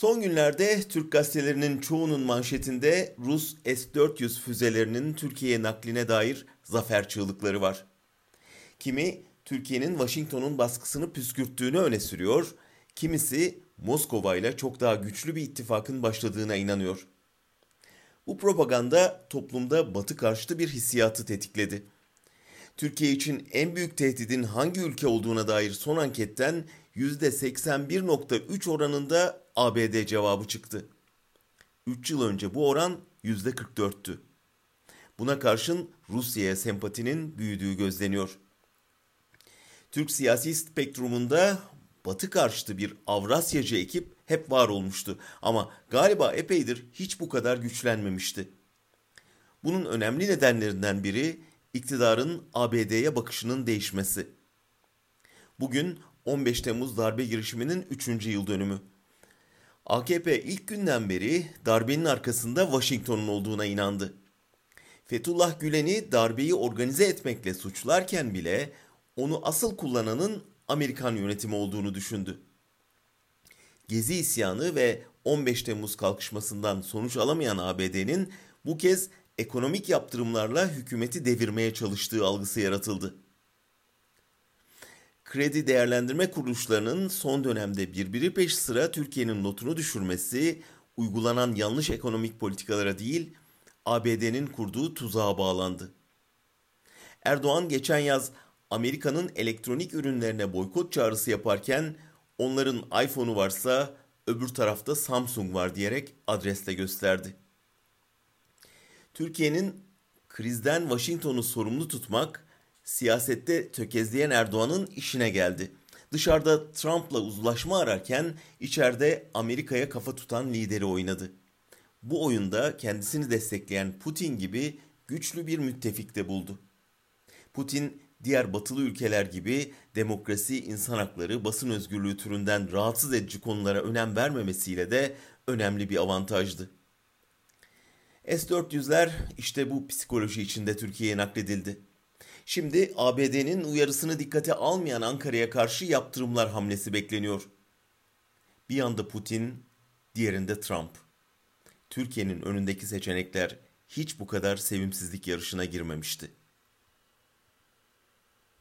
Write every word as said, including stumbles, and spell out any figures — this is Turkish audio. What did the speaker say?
Son günlerde Türk gazetelerinin çoğunun manşetinde Rus S dört yüz füzelerinin Türkiye'ye nakline dair zafer çığlıkları var. Kimi Türkiye'nin Washington'un baskısını püskürttüğünü öne sürüyor, kimisi Moskova ile çok daha güçlü bir ittifakın başladığına inanıyor. Bu propaganda toplumda Batı karşıtı bir hissiyatı tetikledi. Türkiye için en büyük tehdidin hangi ülke olduğuna dair son anketten yüzde seksen bir nokta üç oranında A B D cevabı çıktı. üç yıl önce bu oran yüzde kırk dörttü. Buna karşın Rusya'ya sempatinin büyüdüğü gözleniyor. Türk siyasi spektrumunda Batı karşıtı bir Avrasyacı ekip hep var olmuştu ama galiba epeydir hiç bu kadar güçlenmemişti. Bunun önemli nedenlerinden biri iktidarın A B D'ye bakışının değişmesi. Bugün on beş Temmuz darbe girişiminin üçüncü yıl dönümü. A K P ilk günden beri darbenin arkasında Washington'un olduğuna inandı. Fethullah Gülen'i darbeyi organize etmekle suçlarken bile onu asıl kullananın Amerikan yönetimi olduğunu düşündü. Gezi isyanı ve on beş Temmuz kalkışmasından sonuç alamayan A B D'nin bu kez ekonomik yaptırımlarla hükümeti devirmeye çalıştığı algısı yaratıldı. Kredi değerlendirme kuruluşlarının son dönemde birbiri peş sıra Türkiye'nin notunu düşürmesi, uygulanan yanlış ekonomik politikalara değil, A B D'nin kurduğu tuzağa bağlandı. Erdoğan geçen yaz Amerika'nın elektronik ürünlerine boykot çağrısı yaparken onların iPhone'u varsa öbür tarafta Samsung var diyerek adresle gösterdi. Türkiye'nin krizden Washington'u sorumlu tutmak, siyasette tökezleyen Erdoğan'ın işine geldi. Dışarıda Trump'la uzlaşma ararken içeride Amerika'ya kafa tutan lideri oynadı. Bu oyunda kendisini destekleyen Putin gibi güçlü bir müttefik de buldu. Putin diğer batılı ülkeler gibi demokrasi, insan hakları, basın özgürlüğü türünden rahatsız edici konulara önem vermemesiyle de önemli bir avantajdı. S dört yüzler işte bu psikoloji içinde Türkiye'ye nakledildi. Şimdi A B D'nin uyarısını dikkate almayan Ankara'ya karşı yaptırımlar hamlesi bekleniyor. Bir yanda Putin, diğerinde Trump. Türkiye'nin önündeki seçenekler hiç bu kadar sevimsizlik yarışına girmemişti.